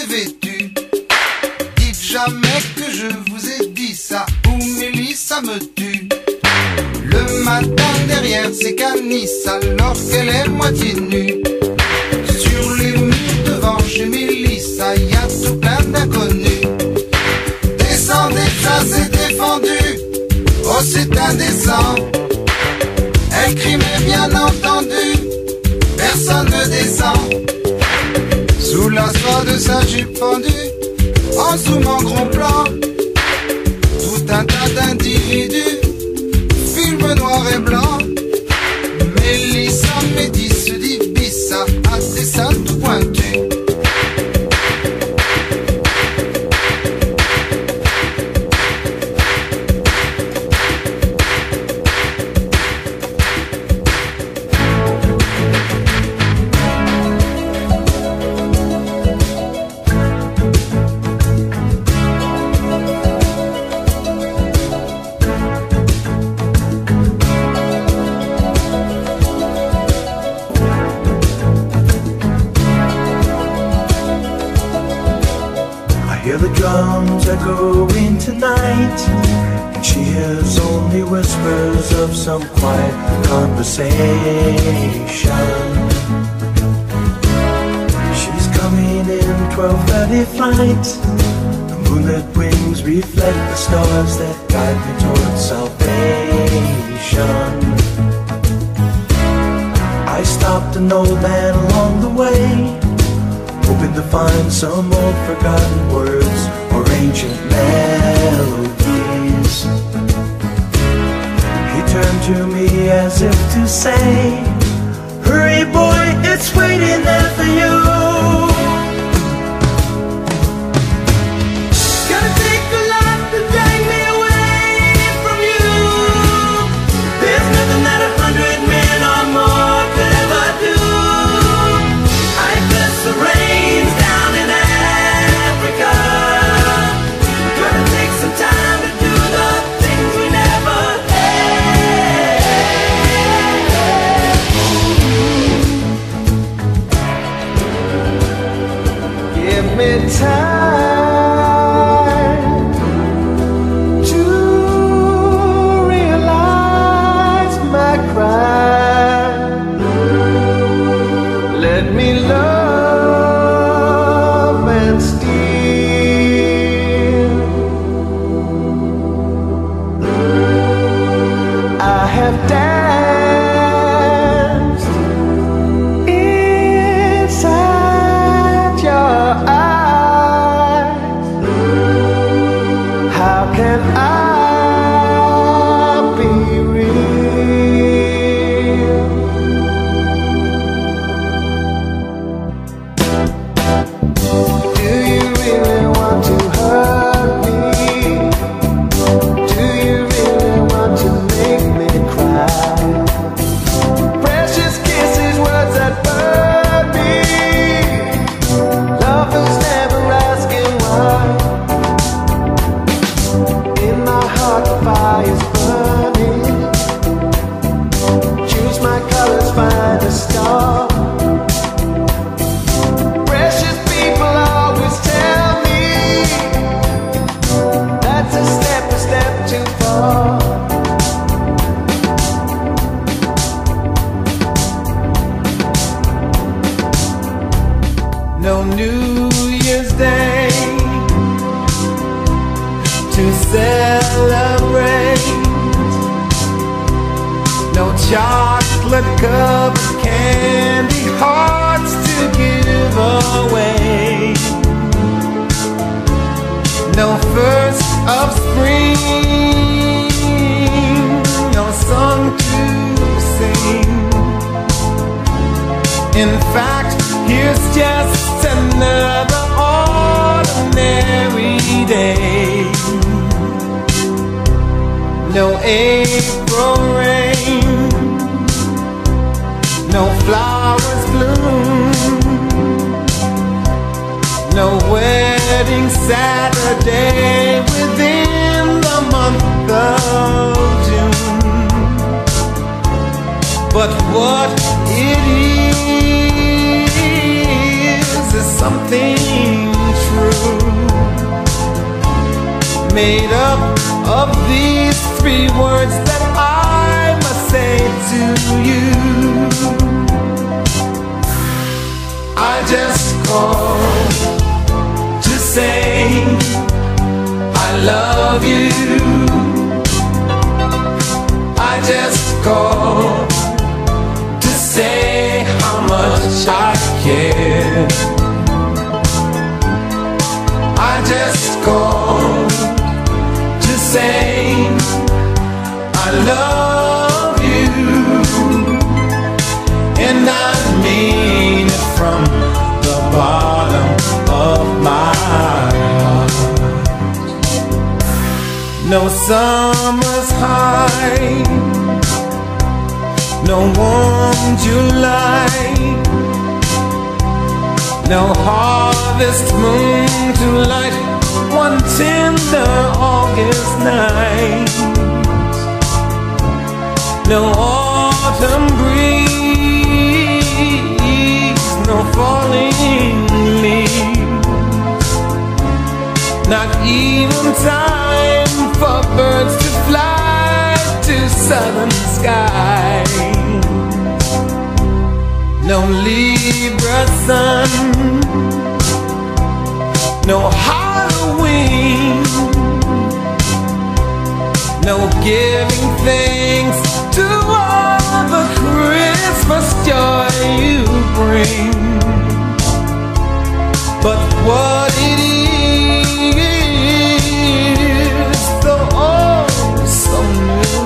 est vêtue. Dites jamais que je vous ai dit ça, ou Mélissa me tue. Le matin derrière ses canisses, alors qu'elle est moitié nue. Sur les murs devant chez Mélissa, y a tout plein d'inconnus. Descendez, ça c'est défendu, oh c'est indécent. Elle crie mais bien entendu, personne ne descend. Sous la soie de sa jupe fendue, en zoom en gros plan, tout un tas d'individus, film noir et blanc. Mélissa Médis se dit Bissa, à des salles tout pointues. Echoing tonight, and she hears only whispers of some quiet conversation. She's coming in 12:30 flight. The moonlit wings reflect the stars that guide me towards salvation. I stopped an old man along the way, hoping to find some old forgotten words or ancient melodies. He turned to me as if to say, hurry boy, it's waiting there for you. Gonna take a lot to drag me away from you. There's nothing that 100 men or more could ever do. I bless the rains down in Africa. Gonna take some time to do the things we never had. Give me time to realize my crime. Let me love and steal. I have danced inside your eyes. How can I be real? Do you really want to hurt me? Do you really want to make me cry? Precious kisses, words that burn me. Lovers never asking why. In my heart the fire's burning. Choose my colors, find a star. Precious people always tell me that's a step too far. No New Year's Day to celebrate. No chocolate covered candy hearts to give away. No first of spring, no song to sing. In fact, here's just another ordinary day. No April rain, no flowers bloom, no wedding Saturday within the month of June. But what it is something made up of these three words that I must say to you. I just called to say I love you. I just called to say how much I care. I just called to say I love you, and I mean it from the bottom of my heart. No summer's high, no warm July, no harvest moon to light one tender August night, no autumn breeze, no falling leaves, not even time for birds to fly to southern skies. No Libra sun, no Halloween, no giving thanks to all the Christmas joy you bring. But what it is, so oh so new,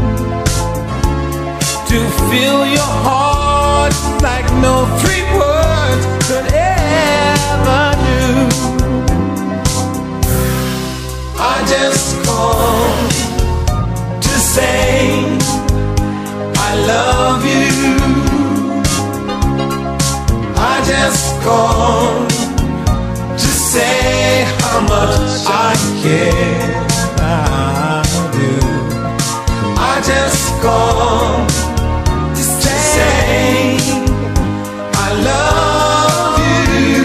to fill your heart like no three words could ever do. I just called to say I love you. I just called to say how much I care. I do. I just called to say I love you,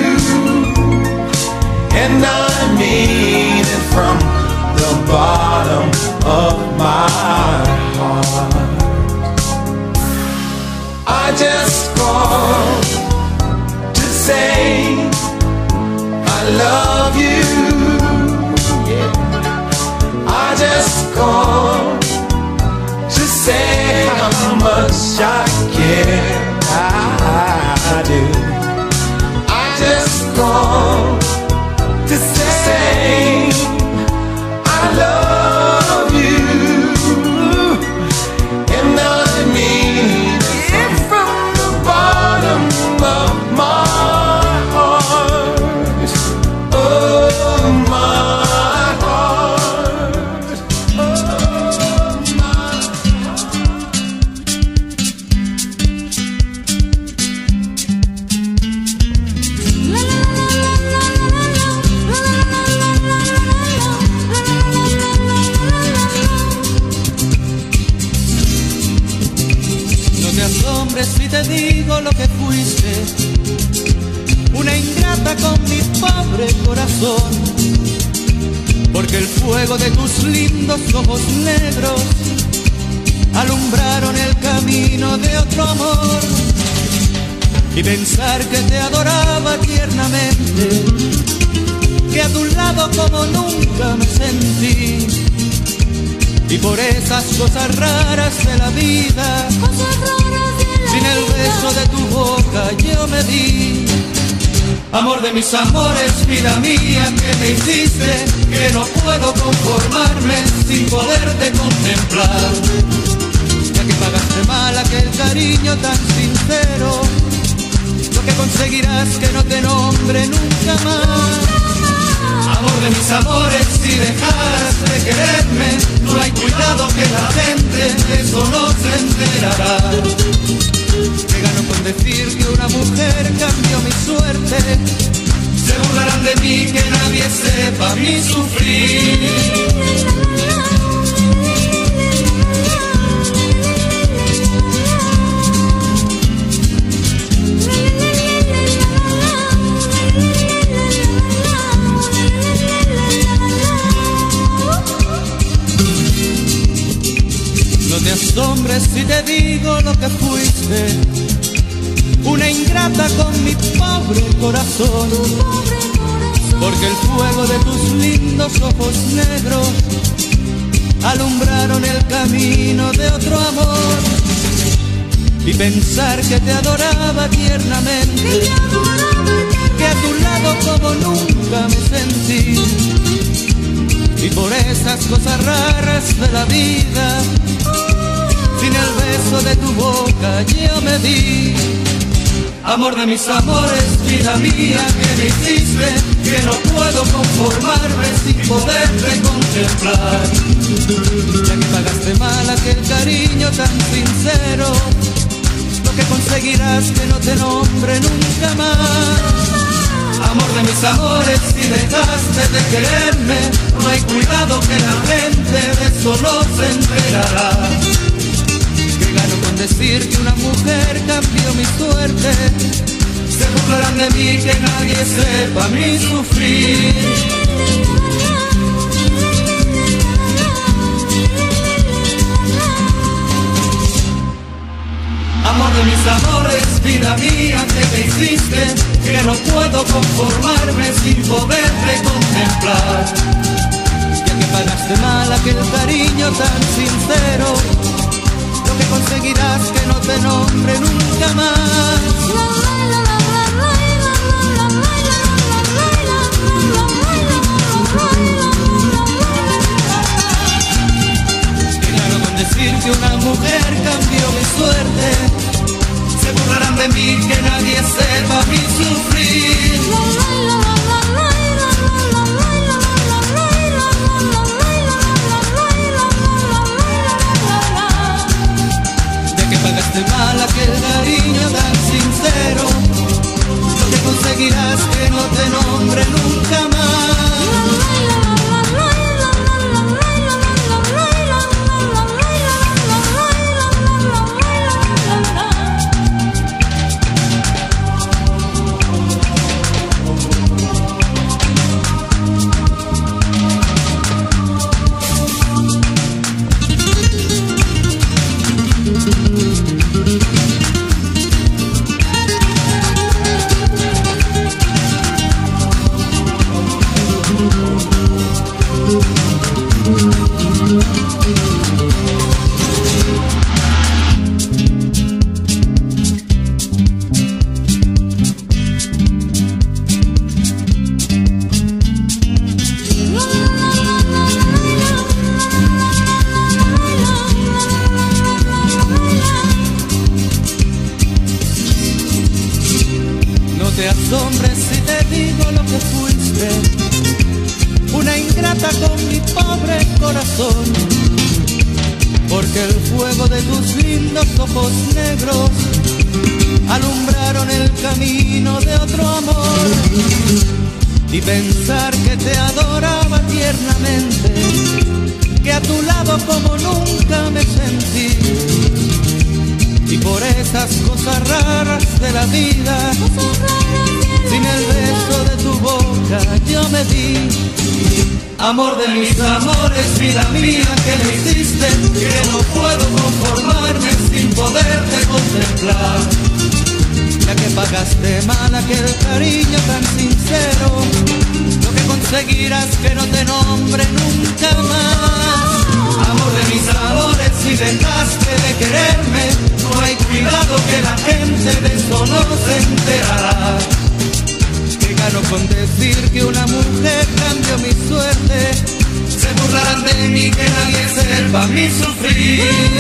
and I mean it from the bottom of my heart. I just called to say I love you. Yeah. I just called to say how much I care. I do. I just called to say I love you, and I mean it from the bottom of my heart. Oh, my heart. Oh, my No te asombres si te digo lo que fuiste, una ingrata con mi pobre corazón, porque el fuego de tus lindos ojos negros alumbraron el camino de otro amor. Y pensar que te adoraba tiernamente, que a tu lado como nunca me sentí, y por esas cosas raras de la vida, sin el beso de tu boca yo me di. Amor de mis amores, vida mía, que me hiciste, que no puedo conformarme sin poderte contemplar. Ya que pagaste mal aquel cariño tan sincero, lo que conseguirás que no te nombre nunca más. Amor de mis amores, si dejas de quererme, no hay cuidado que la gente de eso no se enterará. Me gano con decir que una mujer cambió mi suerte, se burlarán de mí, que nadie sepa mi sufrir. digo lo que fuiste, una ingrata con mi pobre corazón, porque el fuego de tus lindos ojos negros alumbraron el camino de otro amor. Y pensar que te adoraba tiernamente, que a tu lado como nunca me sentí, y por esas cosas raras de la vida, sin el beso de tu boca yo me di. Amor de mis amores, vida mía, que me hiciste, que no puedo conformarme sin poderte contemplar. Ya que pagaste mal aquel cariño tan sincero, lo que conseguirás que no te nombre nunca más. Amor de mis amores, si dejaste de quererme, no hay cuidado que la gente de eso no se enterará. Que gano con decir que una mujer cambió mi suerte, se burlarán de mí, que nadie sepa mi sufrir. Amor de mis amores, vida mía, que me hiciste, que no puedo conformarme sin poderte contemplar. Ya que pagaste mal aquel cariño tan sincero, lo que conseguirás que no te nombre nunca más. Decir que una mujer cambió mi suerte, se burlarán de mí, que nadie sepa mi sufrir. De que pagaste mal aquel cariño tan sincero, lo que conseguirás que no te nombre nunca más. Porque el fuego de tus lindos ojos negros alumbraron el camino de otro amor. Y pensar que te adoraba tiernamente, que a tu lado como nunca me sentí, y por esas cosas raras de la vida, sin el beso de tu boca yo me di. Amor de mis amores, vida mía, que me hiciste, que no puedo conformarme sin poderte contemplar. Ya que pagaste mal aquel cariño tan sincero, lo que conseguirás que no te nombre nunca más. Amor de mis amores, si dejaste de quererme, no hay cuidado que la gente de eso no se enterará. Que gano con decir que una mujer cambió mi suerte, se burlarán de mí, que nadie sepa mi sufrir.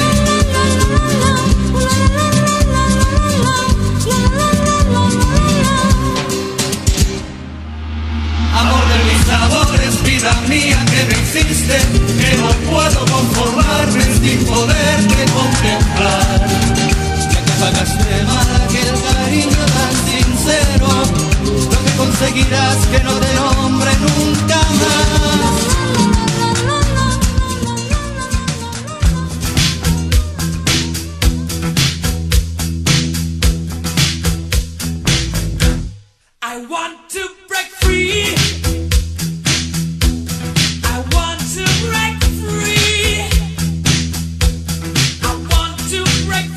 Amor de mis amores, vida mía, que me hiciste, que no puedo conformarme sin poderte contemplar. Ya que pagaste mal aquel cariño tan sincero, lo que conseguirás que no te nombre nunca más. Break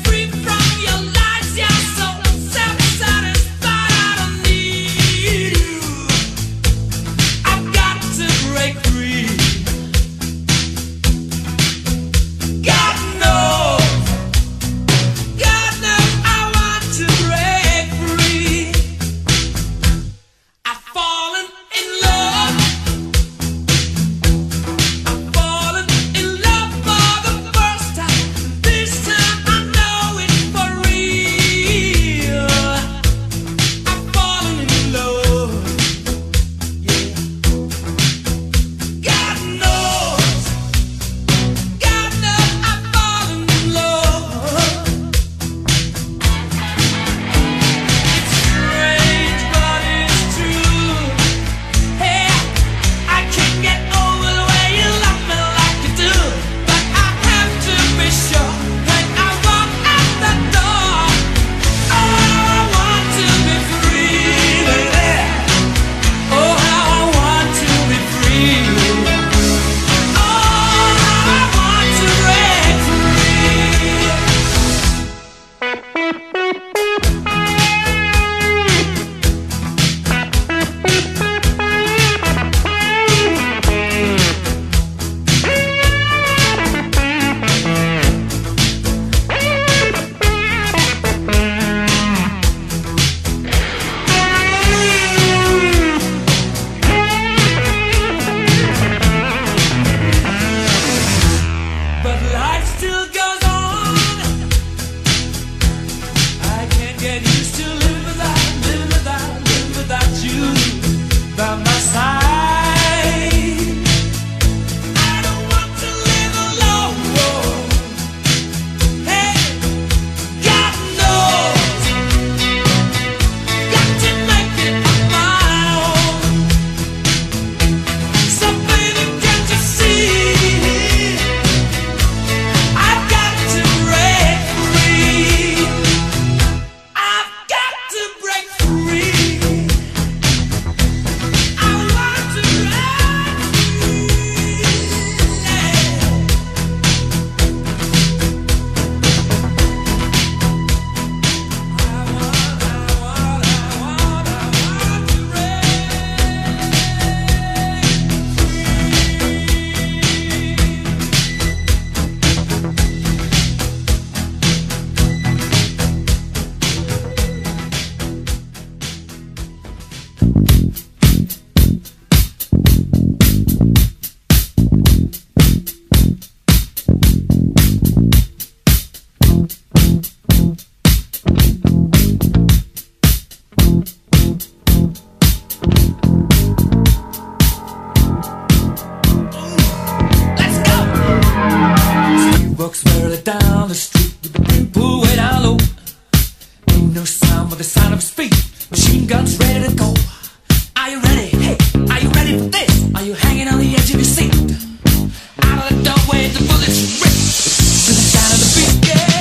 trucks barely down the street with the brim pulled way down low. Ain't no sound but the sound of speed. Machine guns ready to go. Are you ready? Hey, are you ready for this? Are you hanging on the edge of your seat? Out of the doorway, the bullets rip to the sound of the beat.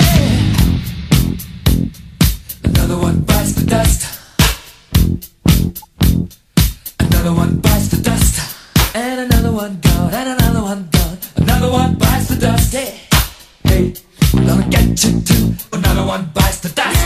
Yeah. Another one bites the dust. Another one bites the dust. And another one gone. And another one gone. Another one bites the dust. Hey, hey, I'm gonna get you too. Another one bites the dust.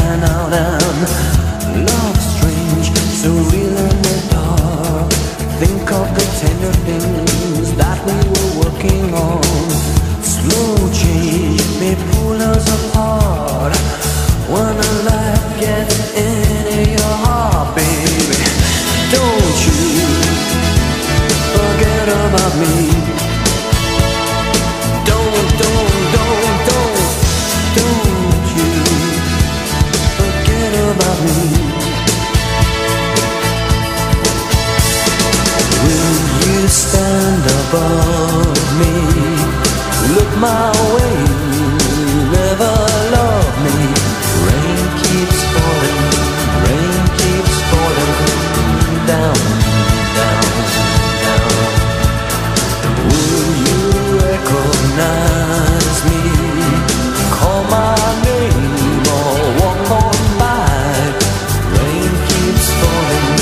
shine out and love strange, so real in the dark. Think of the tender things that we were working on. Slow change may pull us apart when a life gets into your heart, baby. Don't you forget about me. Don't you forget about me. Will you stand above me? Look my way, never love me. Rain keeps falling down, down, down. Will you recognize me? Call my name or walk on by. Rain keeps falling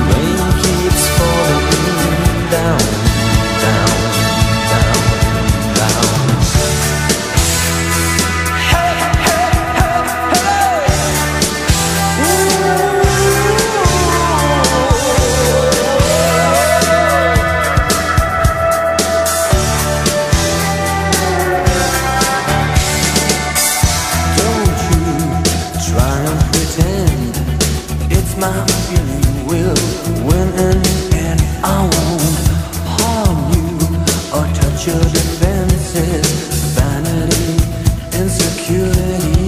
down, down, down, down. Hey, hey, hey, hey. Don't you try and pretend it's my feeling will win in the end. I won't harm you or touch your defenses. Vanity, insecurity.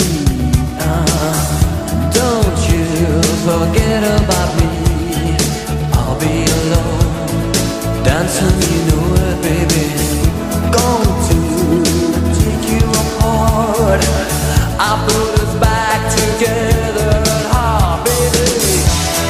Don't you forget about me. I'll be alone, dancing, you know it, baby. Going to take you apart. I put us back together at heart, baby.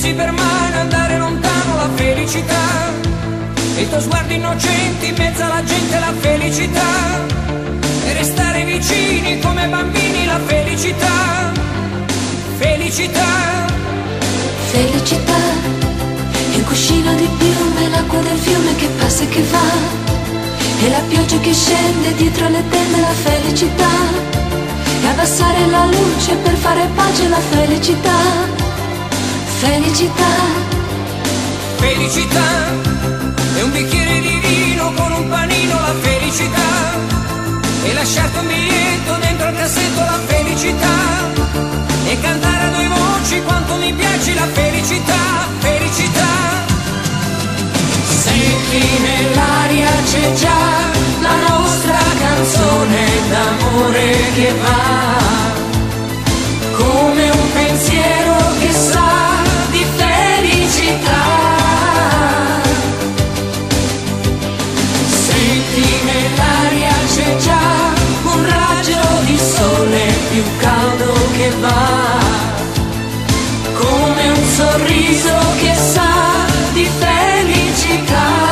tenersi per mano e andare lontano la felicità, e il tuo sguardo innocente in mezzo alla gente la felicità, e restare vicini come bambini la felicità, felicità. Felicità è un cuscino di piume, l'acqua del fiume che passa e che va, e la pioggia che scende dietro le tende la felicità, e abbassare la luce per fare pace la felicità, felicità. Felicità è un bicchiere di vino con un panino la felicità, e lasciarti un biglietto dentro il cassetto la felicità, e cantare a due voci quanto mi piace la felicità, felicità. Senti nell'aria c'è già la nostra canzone d'amore che va, come un pensiero che sa di felicità. Senti nell'aria c'è già un raggio di sole più caldo che va, come un sorriso che sa di felicità.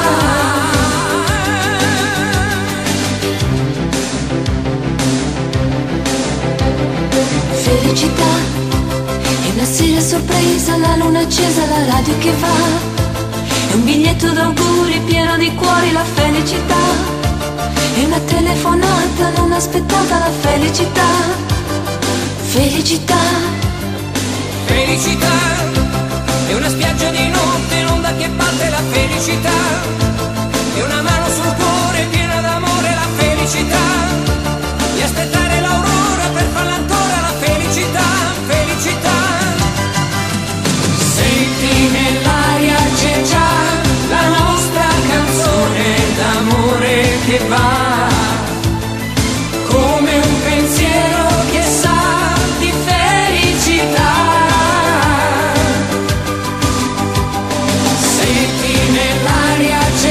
Felicità è una sera sorpresa, la luna accesa, la radio che va, è un biglietto d'auguri pieno di cuori la felicità, è una telefonata non aspettata la felicità, felicità. Felicità è una spiaggia di notte, l'onda che batte la felicità, è una mano sul cuore piena d'amore la felicità, e aspettare l'aurora per farla ancora la felicità, felicità. Senti nell'aria c'è già la nostra canzone d'amore che va, come un pensiero che sa di felicità. Senti nell'aria c'è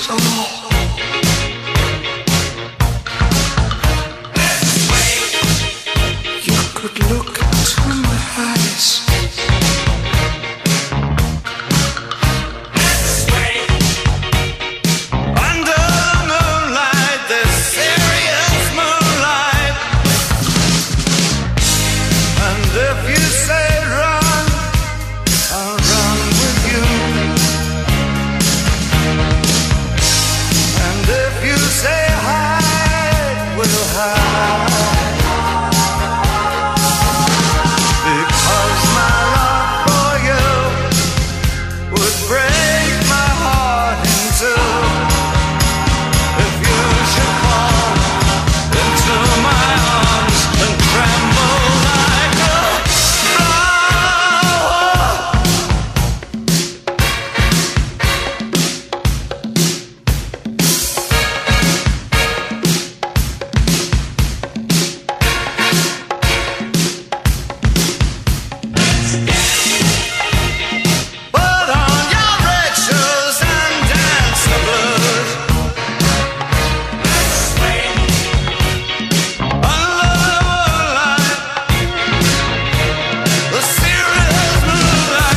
eyes, oh. You could look into my eyes. Under the moonlight, this serious moonlight. And if you say run, I'll run with you. And if you say hide, we'll hide. Because my love for you would break my heart in two. If you should fall into my arms and tremble like a flower. Put on your red shoes and dance the blues. Under the moonlight, the serious moonlight.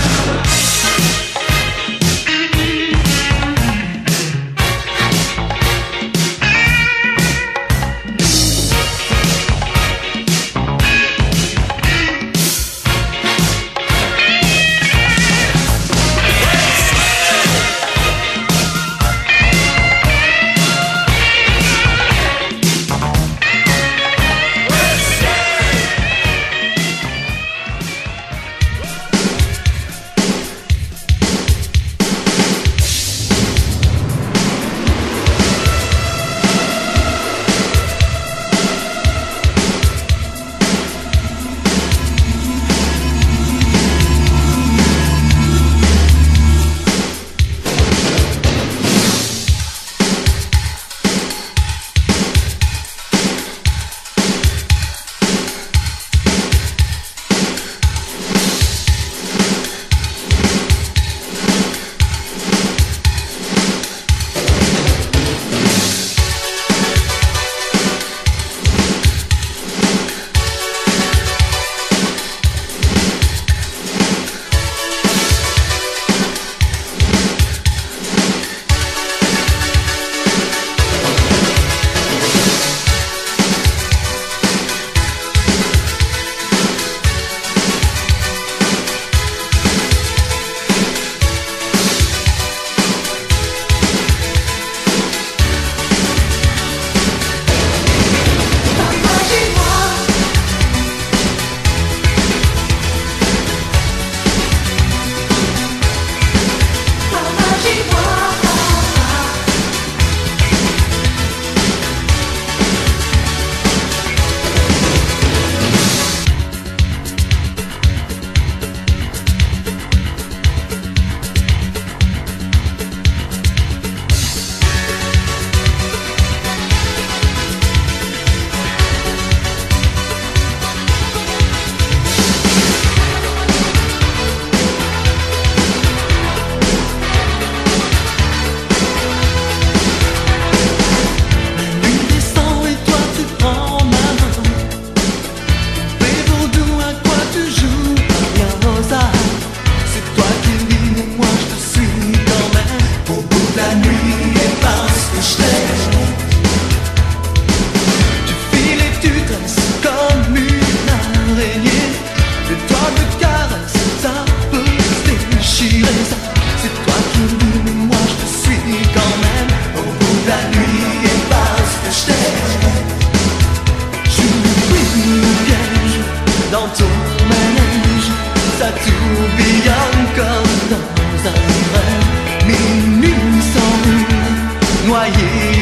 Noyé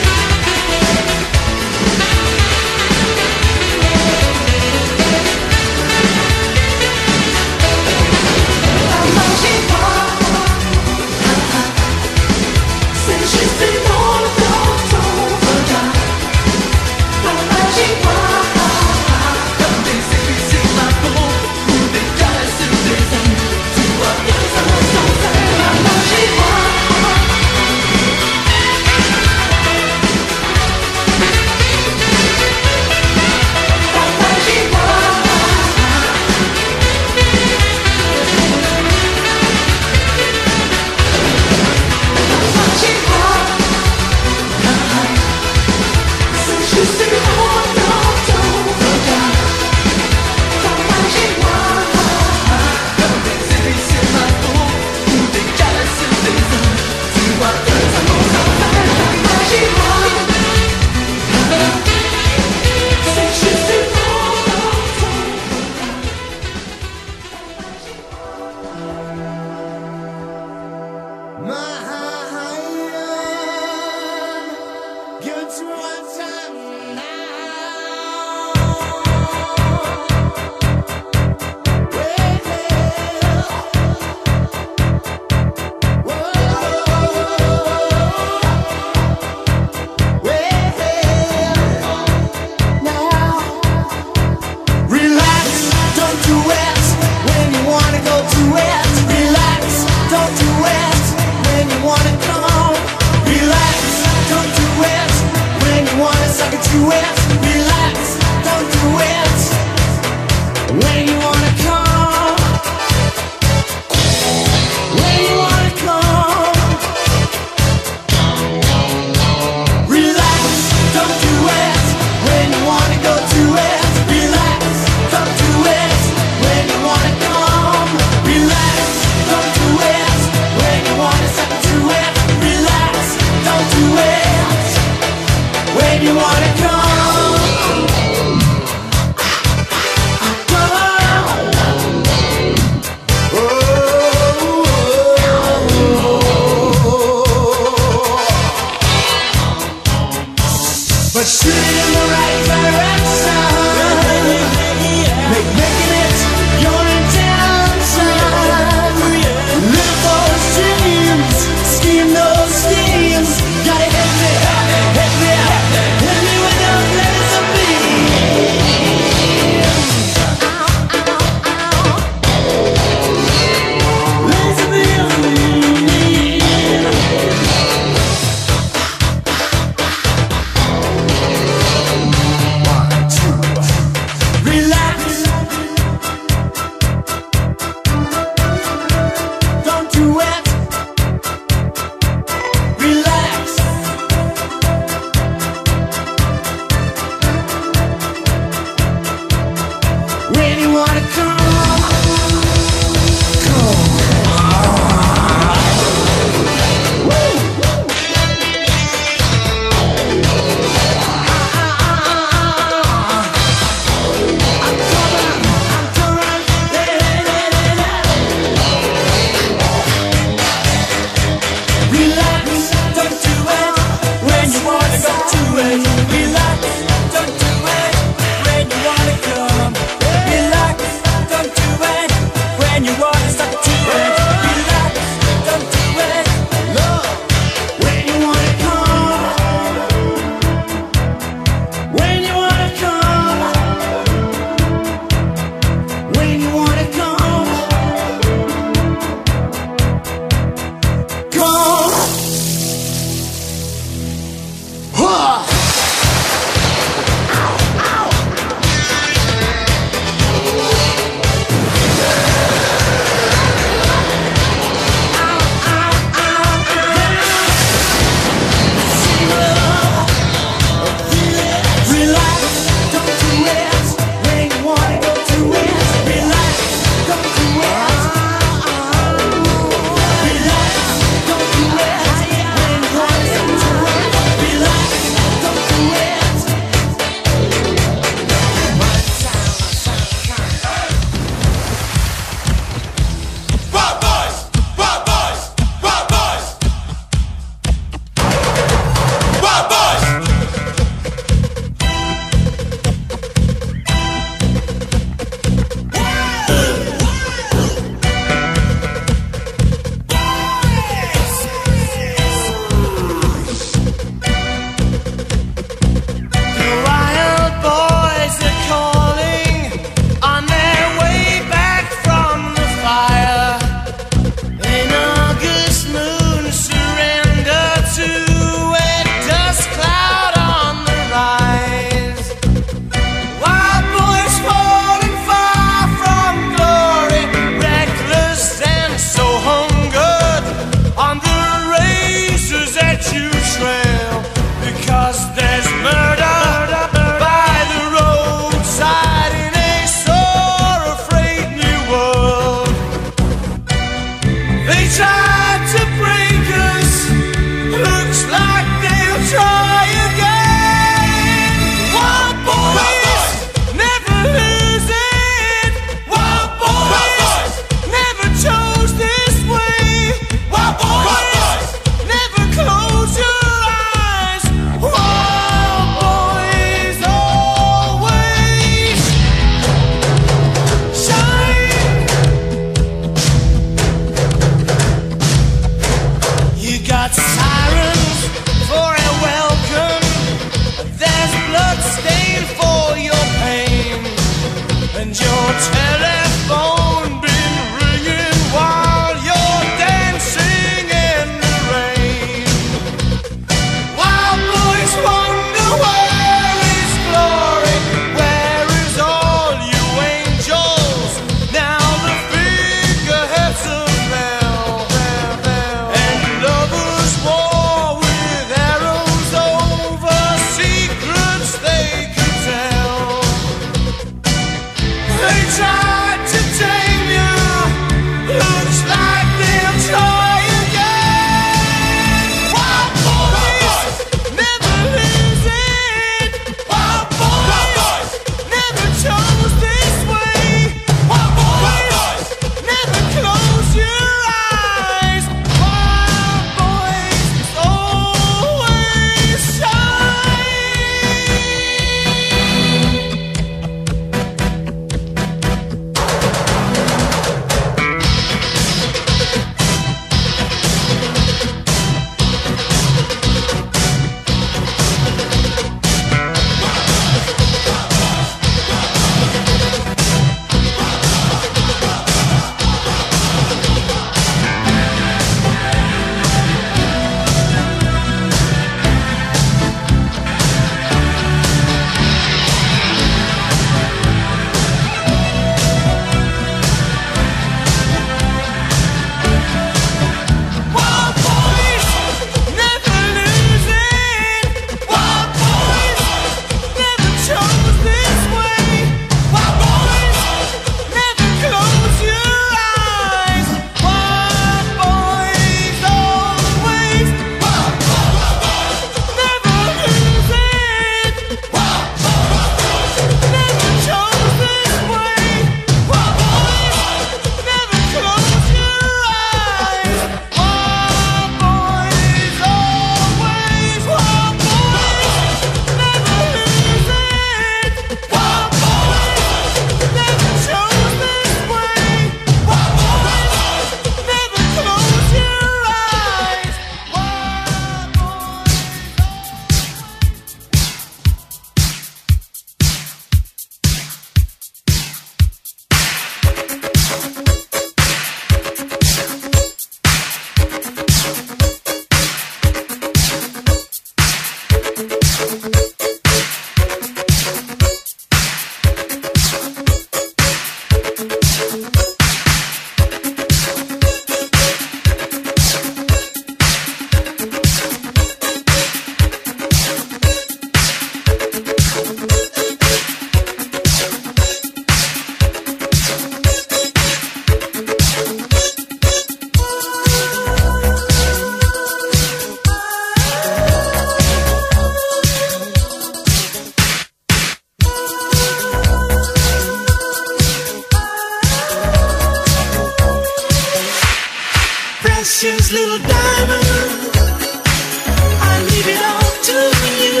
Precious little diamond, I leave it all to you.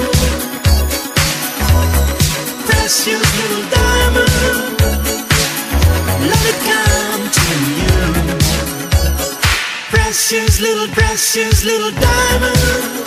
Precious little diamond, let it come to you. Precious little diamond,